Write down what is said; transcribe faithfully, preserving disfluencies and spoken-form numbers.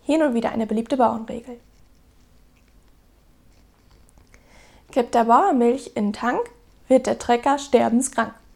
Hier nun wieder eine beliebte Bauernregel. Kippt der Bauer Milch in den Tank, wird der Trecker sterbenskrank.